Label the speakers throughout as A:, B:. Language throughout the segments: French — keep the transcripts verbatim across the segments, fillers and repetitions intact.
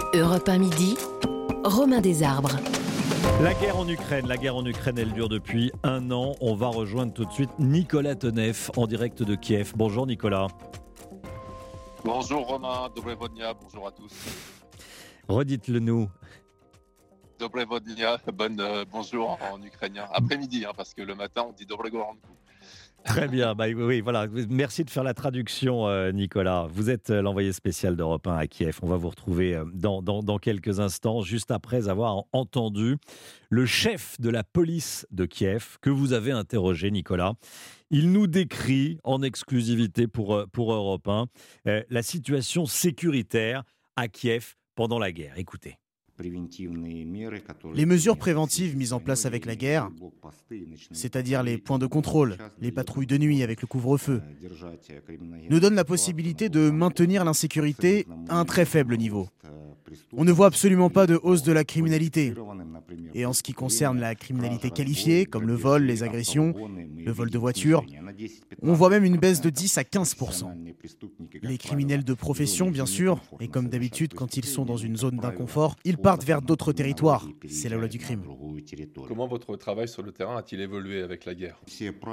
A: Europe un midi, Romain Desarbres.
B: La guerre en Ukraine, la guerre en Ukraine, elle dure depuis un an. On va rejoindre tout de suite Nicolas Tonev en direct de Kiev. Bonjour Nicolas.
C: Bonjour Romain, Dobrevodnia, bonjour à tous.
B: Redites-le nous.
C: Dobrevodnia, bonne, euh, bonjour en, en ukrainien. Après-midi, hein, parce que le matin on dit Dobregoranku.
B: Très bien, bah, oui, voilà. Merci de faire la traduction, euh, Nicolas. Vous êtes euh, l'envoyé spécial d'Europe un à Kiev. On va vous retrouver euh, dans, dans, dans quelques instants, juste après avoir entendu le chef de la police de Kiev que vous avez interrogé, Nicolas. Il nous décrit en exclusivité pour, pour Europe un euh, la situation sécuritaire à Kiev pendant la guerre. Écoutez.
D: Les mesures préventives mises en place avec la guerre, c'est-à-dire les points de contrôle, les patrouilles de nuit avec le couvre-feu, nous donnent la possibilité de maintenir l'insécurité à un très faible niveau. On ne voit absolument pas de hausse de la criminalité. Et en ce qui concerne la criminalité qualifiée, comme le vol, les agressions, le vol de voitures, on voit même une baisse de dix à quinze pour cent. Les criminels de profession, bien sûr, et comme d'habitude, quand ils sont dans une zone d'inconfort, ils partent vers d'autres territoires. C'est la loi du crime.
E: Comment votre travail sur le terrain a-t-il évolué avec la guerre ?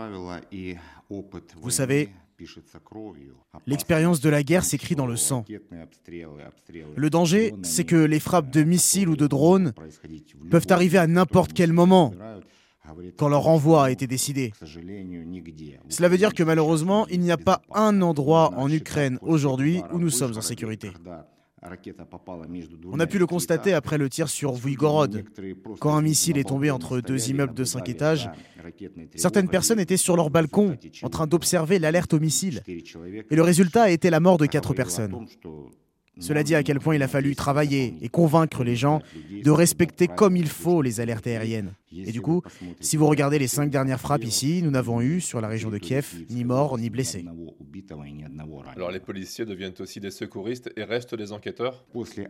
D: Vous savez, l'expérience de la guerre s'écrit dans le sang. Le danger, c'est que les frappes de missiles ou de drones peuvent arriver à n'importe quel moment, quand leur envoi a été décidé. Cela veut dire que malheureusement, il n'y a pas un endroit en Ukraine aujourd'hui où nous sommes en sécurité. On a pu le constater après le tir sur Vuygorod. Quand un missile est tombé entre deux immeubles de cinq étages, certaines personnes étaient sur leur balcon en train d'observer l'alerte au missile. Et le résultat a été la mort de quatre personnes. Cela dit à quel point il a fallu travailler et convaincre les gens de respecter comme il faut les alertes aériennes. Et du coup, si vous regardez les cinq dernières frappes ici, nous n'avons eu, sur la région de Kiev, ni morts ni blessés.
E: Alors les policiers deviennent aussi des secouristes et restent des enquêteurs ?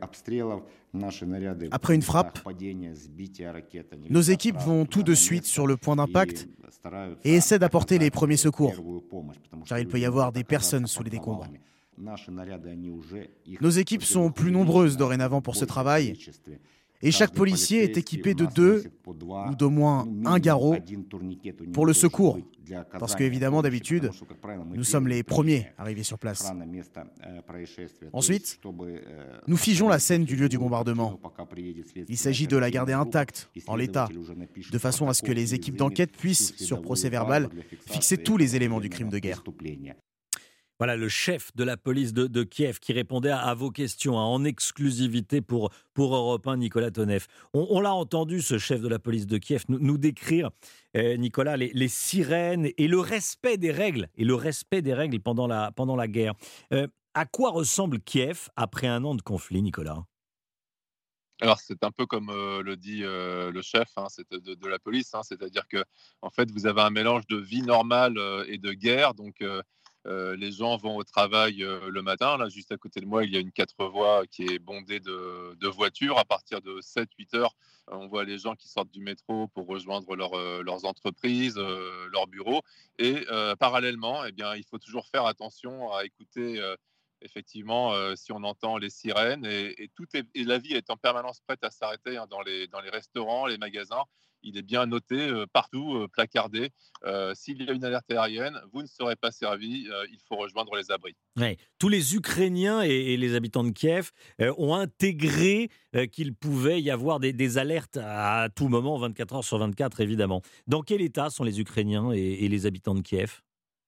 D: Après une frappe, nos équipes vont tout de suite sur le point d'impact et essaient d'apporter les premiers secours, car il peut y avoir des personnes sous les décombres. Nos équipes sont plus nombreuses dorénavant pour ce travail et chaque policier est équipé de deux ou d'au moins un garrot pour le secours. Parce qu'évidemment, d'habitude, nous sommes les premiers arrivés sur place. Ensuite, nous figeons la scène du lieu du bombardement. Il s'agit de la garder intacte, en l'état, de façon à ce que les équipes d'enquête puissent, sur procès-verbal, fixer tous les éléments du crime de guerre.
B: Voilà le chef de la police de, de Kiev qui répondait à, à vos questions hein, en exclusivité pour, pour Europe un, Nicolas Tonev. On, on l'a entendu, ce chef de la police de Kiev, nous, nous décrire, euh, Nicolas, les, les sirènes et le respect des règles, et le respect des règles pendant la, pendant la guerre. Euh, à quoi ressemble Kiev après un an de conflit, Nicolas ?
C: Alors c'est un peu comme euh, le dit euh, le chef hein, c'est de, de la police, hein, c'est-à-dire que en fait vous avez un mélange de vie normale euh, et de guerre, donc euh, Euh, les gens vont au travail euh, le matin. Là, juste à côté de moi, il y a une quatre voies qui est bondée de, de voitures. À partir de sept huit heures, euh, on voit les gens qui sortent du métro pour rejoindre leur, euh, leurs entreprises, euh, leurs bureaux. Et euh, parallèlement, eh bien, il faut toujours faire attention à écouter euh, effectivement euh, si on entend les sirènes. Et, et, tout est, et la vie est en permanence prête à s'arrêter hein, dans, les, dans les restaurants, les magasins. Il est bien noté euh, partout, euh, placardé. Euh, s'il y a une alerte aérienne, vous ne serez pas servi. Euh, il faut rejoindre les abris.
B: Ouais. Tous les Ukrainiens et, et les habitants de Kiev euh, ont intégré euh, qu'il pouvait y avoir des, des alertes à tout moment, vingt-quatre heures sur vingt-quatre, évidemment. Dans quel état sont les Ukrainiens et, et les habitants de Kiev ?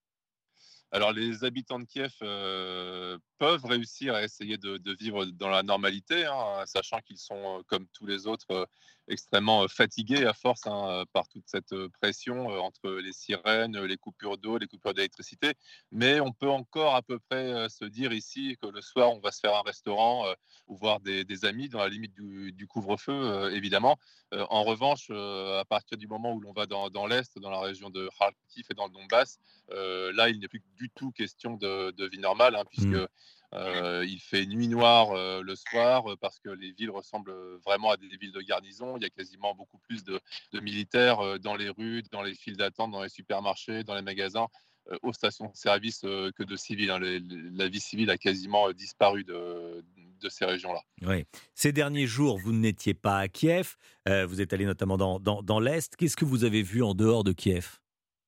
C: Alors, les habitants de Kiev euh, peuvent réussir à essayer de, de vivre dans la normalité, hein, sachant qu'ils sont, euh, comme tous les autres, euh, extrêmement euh, fatigués à force hein, par toute cette euh, pression euh, entre les sirènes, les coupures d'eau, les coupures d'électricité. Mais on peut encore à peu près euh, se dire ici que le soir, on va se faire un restaurant euh, ou voir des, des amis dans la limite du, du couvre-feu, euh, évidemment. Euh, en revanche, euh, à partir du moment où l'on va dans, dans l'Est, dans la région de Kharkiv et dans le Donbass, euh, là, il n'est plus du tout question de, de vie normale, hein, puisque mmh. euh, il fait nuit noire euh, le soir, parce que les villes ressemblent vraiment à des villes de garnison. Il y a quasiment beaucoup plus de, de militaires euh, dans les rues, dans les files d'attente, dans les supermarchés, dans les magasins, euh, aux stations de service euh, que de civils. Hein. Les, la vie civile a quasiment disparu de, de ces régions-là.
B: Oui. Ces derniers jours, vous n'étiez pas à Kiev, euh, vous êtes allé notamment dans, dans, dans l'Est. Qu'est-ce que vous avez vu en dehors de Kiev ?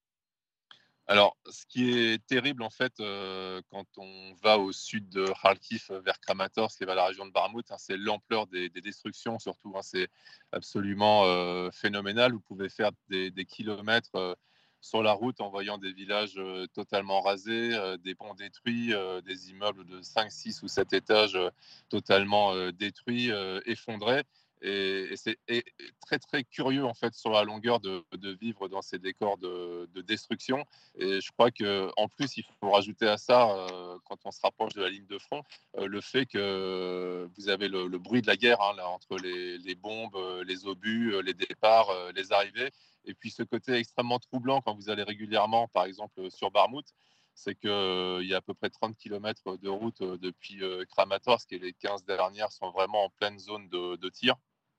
C: Alors, ce qui est terrible, en fait, euh, quand on va au sud de Kharkiv, vers Kramatorsk, qui va la région de Barmout, hein, c'est l'ampleur des, des destructions, surtout. Hein, c'est absolument euh, phénoménal. Vous pouvez faire des, des kilomètres euh, sur la route en voyant des villages euh, totalement rasés, euh, des ponts détruits, euh, des immeubles de cinq, six ou sept étages euh, totalement euh, détruits, euh, effondrés. Et, et c'est et très, très curieux, en fait, sur la longueur de, de vivre dans ces décors de, de destruction. Et je crois qu'en plus, il faut rajouter à ça, euh, quand on se rapproche de la ligne de front, euh, le fait que vous avez le, le bruit de la guerre, hein, là, entre les, les bombes, euh, les obus, euh, les départs, euh, les arrivées. Et puis ce côté extrêmement troublant quand vous allez régulièrement, par exemple, sur Barmout, c'est qu'il euh, y a à peu près trente kilomètres de route euh, depuis euh, Kramatorsk, et les quinze dernières sont vraiment en pleine zone de, de tir.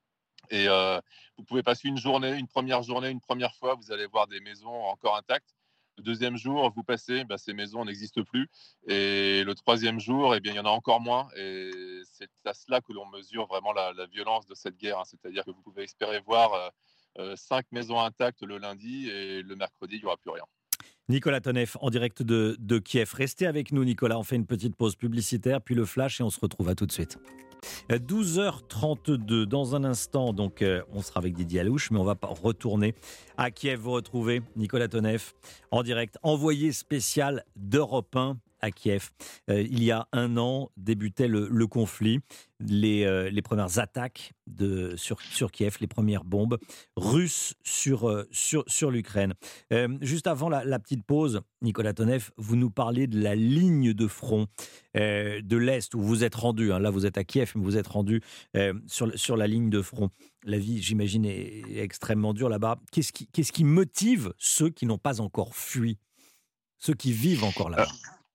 C: Et euh, vous pouvez passer une journée, une première journée, une première fois, vous allez voir des maisons encore intactes. Le deuxième jour, vous passez, bah, ces maisons n'existent plus. Et le troisième jour, eh bien, il y en a encore moins. Et c'est à cela que l'on mesure vraiment la, la violence de cette guerre, hein. C'est-à-dire que vous pouvez espérer voir euh, euh, cinq maisons intactes le lundi, et le mercredi, il n'y aura plus rien.
B: Nicolas Tonev, en direct de, de Kiev. Restez avec nous, Nicolas. On fait une petite pause publicitaire, puis le flash, et on se retrouve. À tout de suite. douze heures trente-deux, dans un instant, donc euh, on sera avec Didier Alouche, mais on va pas retourner à Kiev. Vous retrouvez Nicolas Tonev en direct, envoyé spécial d'Europe un à Kiev. Euh, il y a un an débutait le, le conflit, les, euh, les premières attaques de, sur, sur Kiev, les premières bombes russes sur, euh, sur, sur l'Ukraine. Euh, juste avant la, la petite pause, Nicolas Tonev, vous nous parlez de la ligne de front euh, de l'Est où vous êtes rendu. Hein, là, vous êtes à Kiev, mais vous êtes rendu euh, sur, sur la ligne de front. La vie, j'imagine, est, est extrêmement dure là-bas. Qu'est-ce qui, qu'est-ce qui motive ceux qui n'ont pas encore fui, ceux qui vivent encore là-bas ?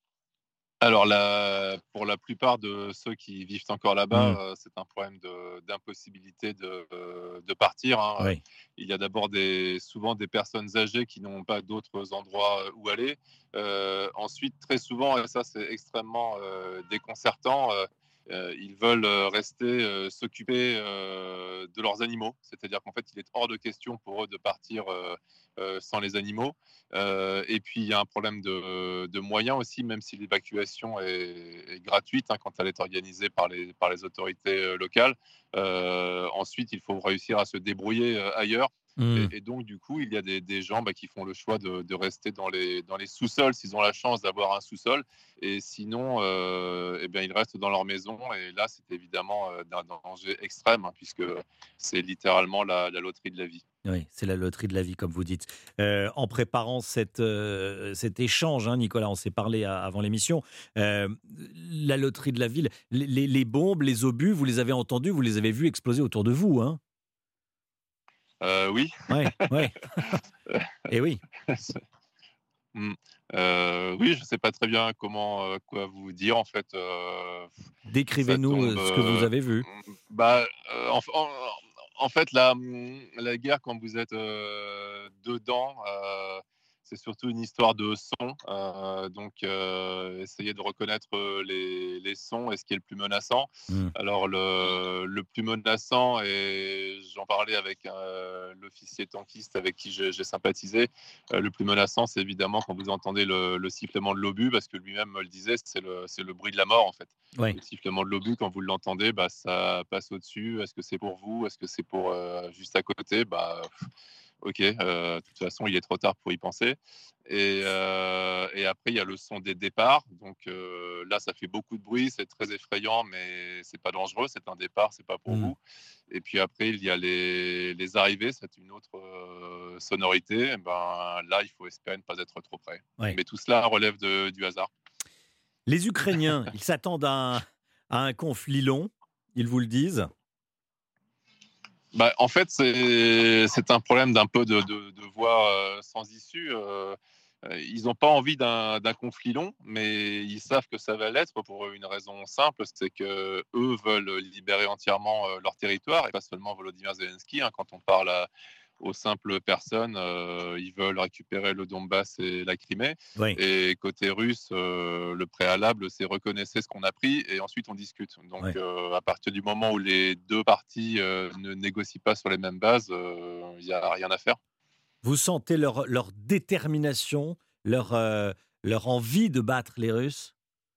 C: Alors, la, pour la plupart de ceux qui vivent encore là-bas,
B: Mmh.
C: euh, c'est un problème de, d'impossibilité de, euh, de partir, hein.
B: Oui.
C: Il y a d'abord des, souvent des personnes âgées qui n'ont pas d'autres endroits où aller. Euh, ensuite, très souvent, et ça c'est extrêmement euh, déconcertant, euh, euh, ils veulent rester euh, s'occuper euh, de leurs animaux. C'est-à-dire qu'en fait, il est hors de question pour eux de partir euh, euh, sans les animaux. Euh, et puis, il y a un problème de, de moyens aussi, même si l'évacuation est, est gratuite, hein, quand elle est organisée par les, par les autorités euh, locales. Euh, ensuite, il faut réussir à se débrouiller euh, ailleurs.
B: Mmh.
C: Et, et donc, du coup, il y a des, des gens bah, qui font le choix de, de rester dans les, dans les sous-sols, s'ils ont la chance d'avoir un sous-sol. Et sinon, euh, eh bien, ils restent dans leur maison. Et là, c'est évidemment euh, d'un danger extrême, hein, puisque c'est littéralement la, la loterie de la vie.
B: Oui, c'est la loterie de la vie, comme vous dites. Euh, en préparant cette, euh, cet échange, hein, Nicolas, on s'est parlé à, avant l'émission, euh, la loterie de la ville, les, les, les bombes, les obus, vous les avez entendus, vous les avez vus exploser autour de vous, hein ?
C: Euh, oui.
B: Oui, oui. Et oui.
C: Mm. Euh, oui, je ne sais pas très bien comment euh, quoi vous dire, en fait. Euh,
B: Décrivez-nous
C: tombe,
B: ce que vous avez vu.
C: Euh, bah, euh, en, en, en fait, la, la guerre, quand vous êtes euh, dedans, euh, c'est surtout une histoire de son. Euh, donc, euh, essayez de reconnaître les, les sons et ce qui est le plus menaçant.
B: Mmh.
C: Alors, le, le plus menaçant, et j'en parlais avec euh, l'officier tankiste avec qui j'ai, j'ai sympathisé, euh, le plus menaçant, c'est évidemment quand vous entendez le, le sifflement de l'obus, parce que lui-même me le disait, c'est le, c'est le bruit de la mort, en fait.
B: Ouais.
C: Le sifflement de l'obus, quand vous l'entendez, bah, ça passe au-dessus. Est-ce que c'est pour vous ? Est-ce que c'est pour euh, juste à côté ? Bah, ok, euh, de toute façon, il est trop tard pour y penser. Et, euh, et après, il y a le son des départs. Donc euh, là, ça fait beaucoup de bruit, c'est très effrayant, mais c'est pas dangereux. C'est un départ, c'est pas pour
B: Mmh.
C: vous. Et puis après, il y a les, les arrivées, c'est une autre euh, sonorité. Et ben, là, il faut espérer ne pas être trop près.
B: Ouais.
C: Mais tout cela relève de, du hasard.
B: Les Ukrainiens, ils s'attendent à un, à un conflit long, ils vous le disent.
C: Bah, en fait, c'est, c'est un problème d'un peu de, de, de voie euh, sans issue. Euh, ils n'ont pas envie d'un, d'un conflit long, mais ils savent que ça va l'être pour une raison simple, c'est que eux veulent libérer entièrement euh, leur territoire, et pas seulement Volodymyr Zelensky. Hein, quand on parle à, aux simples personnes. Euh, ils veulent récupérer le Donbass et la Crimée.
B: Oui.
C: Et côté russe, euh, le préalable, c'est reconnaissez ce qu'on a pris et ensuite on discute. Donc
B: Oui.
C: euh, à partir du moment où les deux parties euh, ne négocient pas sur les mêmes bases, il euh, n'y a rien à faire.
B: Vous sentez leur, leur détermination, leur, euh, leur envie de battre les Russes?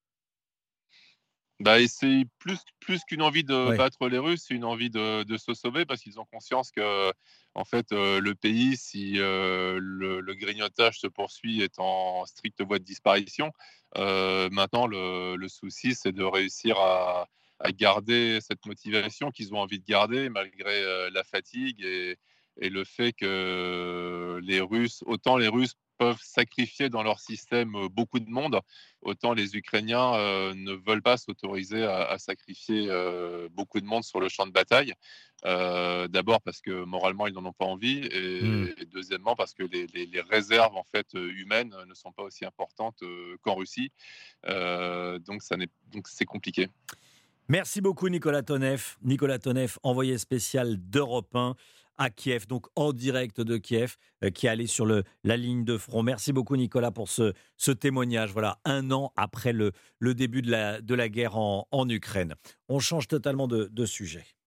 C: Bah, et c'est plus, plus qu'une envie de
B: Oui.
C: battre les Russes, c'est une envie de, de se sauver parce qu'ils ont conscience que, en fait, euh, le pays, si euh, le, le grignotage se poursuit, est en stricte voie de disparition. Euh, maintenant, le, le souci, c'est de réussir à, à garder cette motivation qu'ils ont envie de garder malgré euh, la fatigue et, et le fait que les Russes, autant les Russes peuvent sacrifier dans leur système euh, beaucoup de monde, autant les Ukrainiens euh, ne veulent pas s'autoriser à, à sacrifier euh, beaucoup de monde sur le champ de bataille. Euh, D'abord parce que moralement ils n'en ont pas envie, et,
B: Mm.
C: et deuxièmement parce que les, les, les réserves en fait humaines ne sont pas aussi importantes euh, qu'en Russie. Euh, donc ça n'est donc c'est compliqué.
B: Merci beaucoup Nicolas Tonev. Nicolas Tonev, envoyé spécial d'Europe un à Kiev, donc en direct de Kiev, euh, qui est allé sur le, la ligne de front. Merci beaucoup Nicolas pour ce, ce témoignage. Voilà, un an après le, le début de la, de la guerre en, en Ukraine. On change totalement de, de sujet.